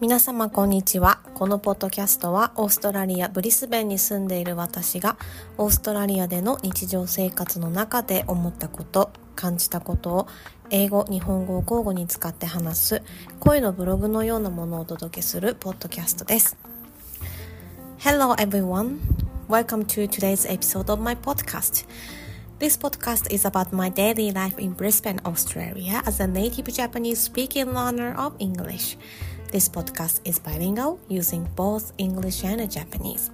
皆様こんにちは。このポッドキャストはオーストラリア・ブリスベンに住んでいる私がオーストラリアでの日常生活の中で思ったこと、感じたことを英語、日本語を交互に使って話す声のブログのようなものをお届けするポッドキャストです。Hello everyone. Welcome to today's episode of my podcast.This podcast is about my daily life in Brisbane, Australia as a native Japanese speaking learner of English. This podcast is bilingual, using both English and Japanese.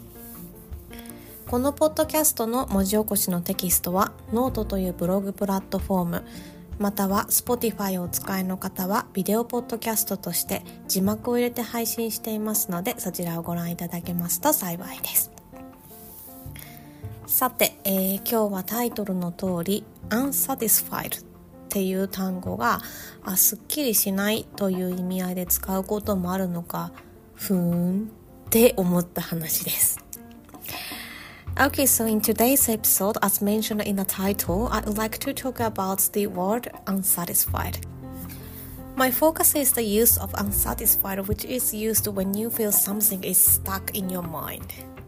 このポッドキャストの文字起こしのテキストはノートというブログプラットフォーム、または Spotify をお使いの方はビデオポッドキャストとして字幕を入れて配信していますので、そちらをご覧いただけますと幸いです。さて、今日はタイトルの通り unsatisfied っていう単語がすっきりしないという意味合いで使うこともあるのかふーんって思った話です。Okay, so in today's episode, as mentioned in the title, I'd like to talk about the word unsatisfied. My focus is the use of unsatisfied, which is used when you feel something is stuck in your mind.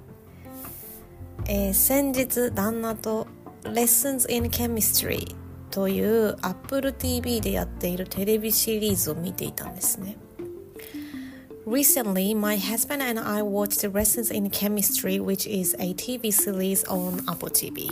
先日旦那と Lessons in Chemistry という Apple TV でやっているテレビシリーズを見ていたんですね。Recently, my husband and I watched Lessons in Chemistry, which is a TV series on Apple TV.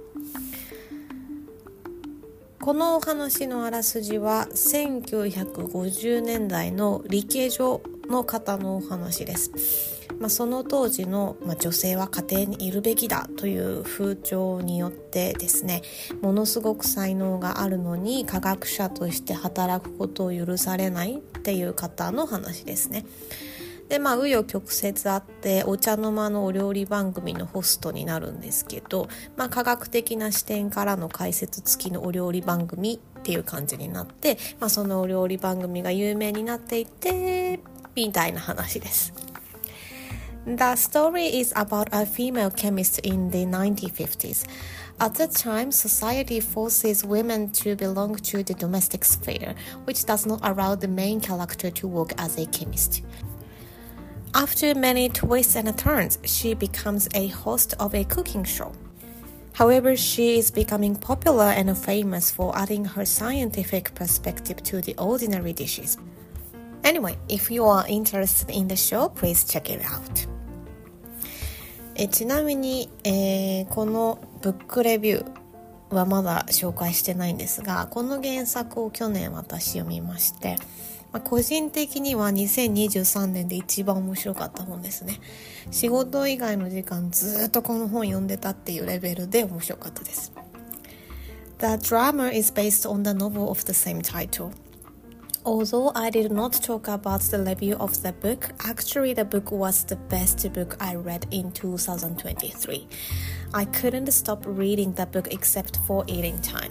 このお話のあらすじは1950年代の理系女の方のお話です。その当時の、女性は家庭にいるべきだという風潮によってですね、ものすごく才能があるのに科学者として働くことを許されないっていう方の話ですね。で、紆余曲折あってお茶の間のお料理番組のホストになるんですけど、科学的な視点からの解説付きのお料理番組っていう感じになって、そのお料理番組が有名になっていってみたいな話です。The story is about a female chemist in the 1950s. At the time, society forces women to belong to the domestic sphere, which does not allow the main character to work as a chemist. After many twists and turns, she becomes a host of a cooking show. However, she is becoming popular and famous for adding her scientific perspective to the ordinary dishes. Anyway, if you are interested in the show, please check it out. ちなみに、このブックレビューはまだ紹介してないんですが、この原作を去年私読みまして、個人的には2023年で一番面白かった本ですね。仕事以外の時間ずっとこの本読んでたっていうレベルで面白かったです。The drama is based on the novel of the same title.Although I did not talk about the review of the book, actually the book was the best book I read in 2023. I couldn't stop reading the book except for eating time.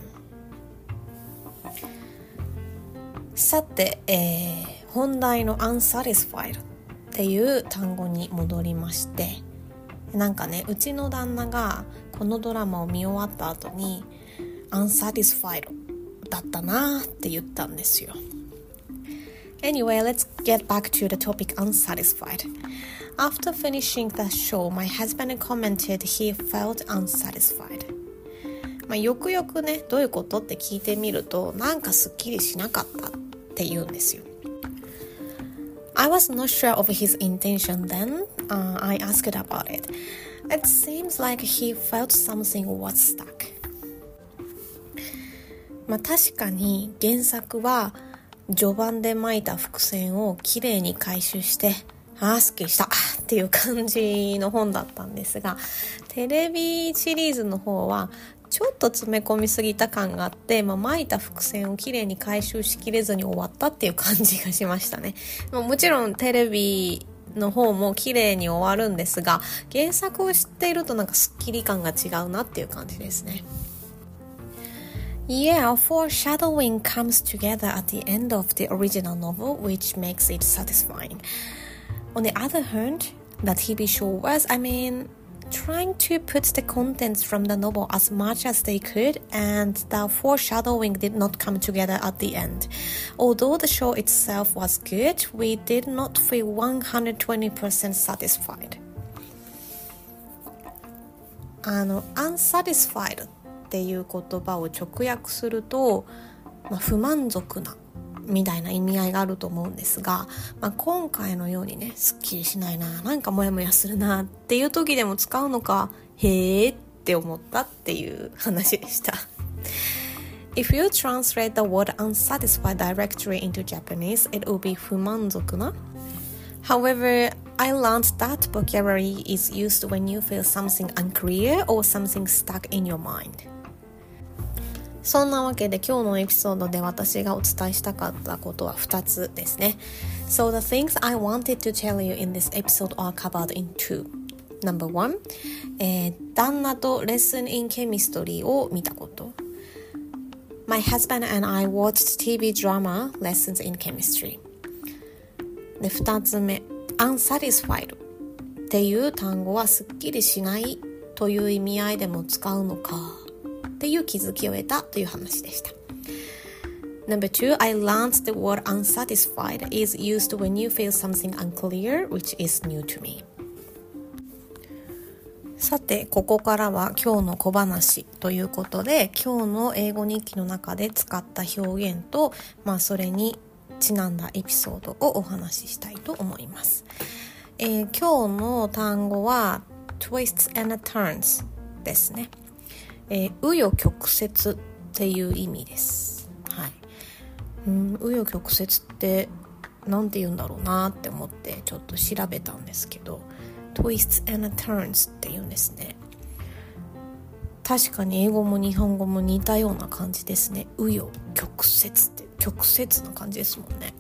さて、本題の unsatisfied っていう単語に戻りまして、うちの旦那がこのドラマを見終わった後に unsatisfied だったなって言ったんですよ。Anyway, let's get back to the topic unsatisfied. After finishing the show, my husband commented he felt unsatisfied. よくよくね、どういうことって聞いてみると、すっきりしなかったって言うんですよ。I was not sure of his intention then. I asked about it. It seems like he felt something was stuck. 確かに原作は序盤で巻いた伏線をきれいに回収してすっきりしたっていう感じの本だったんですが、テレビシリーズの方はちょっと詰め込みすぎた感があって、巻いた伏線をきれいに回収しきれずに終わったっていう感じがしましたね。もちろんテレビの方もきれいに終わるんですが、原作を知っているとすっきり感が違うなっていう感じですね。Yeah, foreshadowing comes together at the end of the original novel, which makes it satisfying. On the other hand, the TV show was, trying to put the contents from the novel as much as they could, and the foreshadowing did not come together at the end. Although the show itself was good, we did not feel 120% satisfied. unsatisfied っていう言葉を直訳すると、不満足なみたいな意味合いがあると思うんですが、今回のようにね、すっきりしないな、なんかモヤモヤするなっていう時でも使うのか、へーって思ったっていう話でした。If you translate the word unsatisfied directly into Japanese, it will be 不満足な。However, I learned that vocabulary is used when you feel something unclear or something stuck in your mind. そんなわけで今日のエピソードで私がお伝えしたかったことは2つですね。So the things I wanted to tell you in this episode are covered in two. Number one, 旦那とレッスン in chemistry を見たこと。My husband and I watched TV drama lessons in chemistry. で、2つ目、unsatisfied っていう単語はすっきりしないという意味合いでも使うのかっていう気づきを得たという話でした。Number two, I learned the word unsatisfied is used when you feel something unclear, which is new to me. さて、ここからは今日の小話ということで、今日の英語日記の中で使った表現と、それにちなんだエピソードをお話ししたいと思います。今日の単語は twists and turns ですね。紆余曲折っていう意味です。はい。紆余曲折ってなんて言うんだろうなって思ってちょっと調べたんですけど、twists and turns って言うんですね。確かに英語も日本語も似たような感じですね。紆余曲折って曲折の感じですもんね。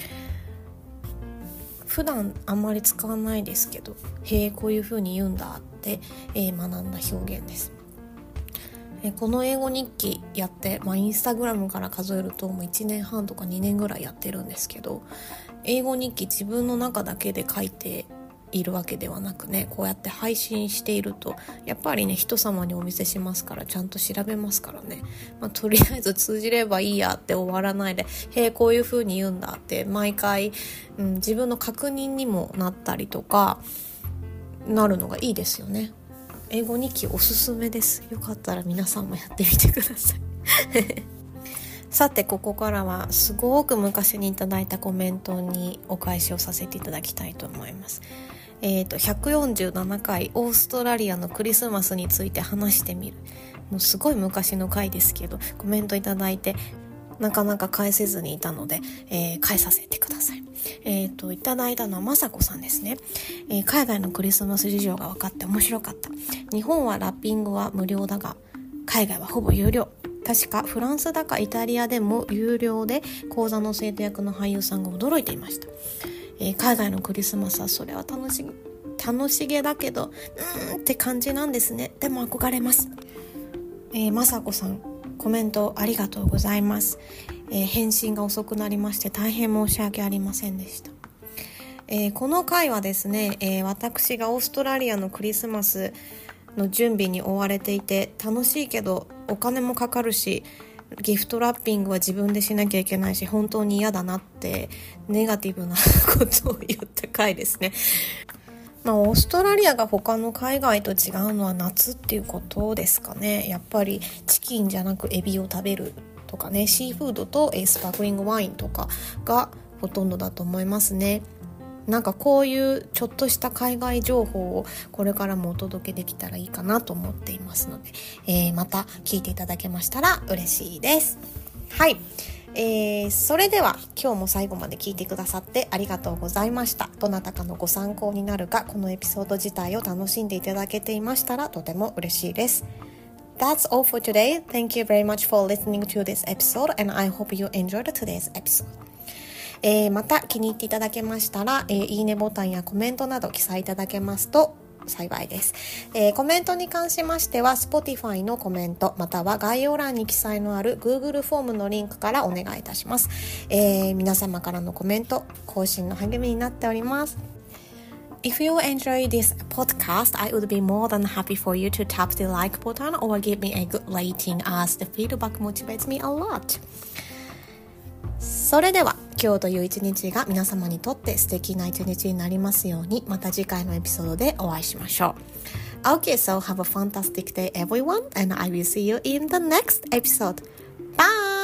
普段あんまり使わないですけど、こういう風に言うんだって、学んだ表現です。この英語日記やって、インスタグラムから数えるともう1年半とか2年ぐらいやってるんですけど、英語日記自分の中だけで書いているわけではなくね、こうやって配信しているとやっぱりね、人様にお見せしますからちゃんと調べますからね、とりあえず通じればいいやって終わらないで、こういう風に言うんだって毎回、自分の確認にもなったりとかなるのがいいですよね。英語日記おすすめです。よかったら皆さんもやってみてくださいさて、ここからはすごく昔にいただいたコメントにお返しをさせていただきたいと思います。147回オーストラリアのクリスマスについて話してみる、もうすごい昔の回ですけどコメントいただいてなかなか返せずにいたので、返させてください。いただいたのはまさこさんですね。海外のクリスマス事情が分かって面白かった。日本はラッピングは無料だが海外はほぼ有料。確かフランスだかイタリアでも有料で講座の生徒役の俳優さんが驚いていました。海外のクリスマスはそれは楽しげだけどって感じなんですね。でも憧れます。まさこさん、コメントありがとうございます。返信が遅くなりまして大変申し訳ありませんでした。この回はですね、私がオーストラリアのクリスマスの準備に追われていて、楽しいけどお金もかかるしギフトラッピングは自分でしなきゃいけないし本当に嫌だなってネガティブなことを言った回ですね。オーストラリアが他の海外と違うのは夏っていうことですかね。やっぱりチキンじゃなくエビを食べるとかね、シーフードとスパークリングワインとかがほとんどだと思いますね。なんかこういうちょっとした海外情報をこれからもお届けできたらいいかなと思っていますので、また聞いていただけましたら嬉しいです。はい、それでは今日も最後まで聞いてくださってありがとうございました。どなたかのご参考になるか、このエピソード自体を楽しんでいただけていましたらとても嬉しいです。That's all for today. Thank you very much for listening to this episode and I hope you enjoyed today's episode. また気に入っていただけましたら、いいねボタンやコメントなど記載いただけますと幸いです。コメントに関しましては Spotify のコメントまたは概要欄に記載のある Google フォームのリンクからお願いいたします。皆様からのコメント更新の励みになっております。 If you enjoy this podcast, I would be more than happy for you to tap the like button or give me a good rating as the feedback motivates me a lot. それでは今日という一日が皆様にとって素敵な一日になりますように、また次回のエピソードでお会いしましょう。Okay, so have a fantastic day everyone, and I will see you in the next episode. Bye!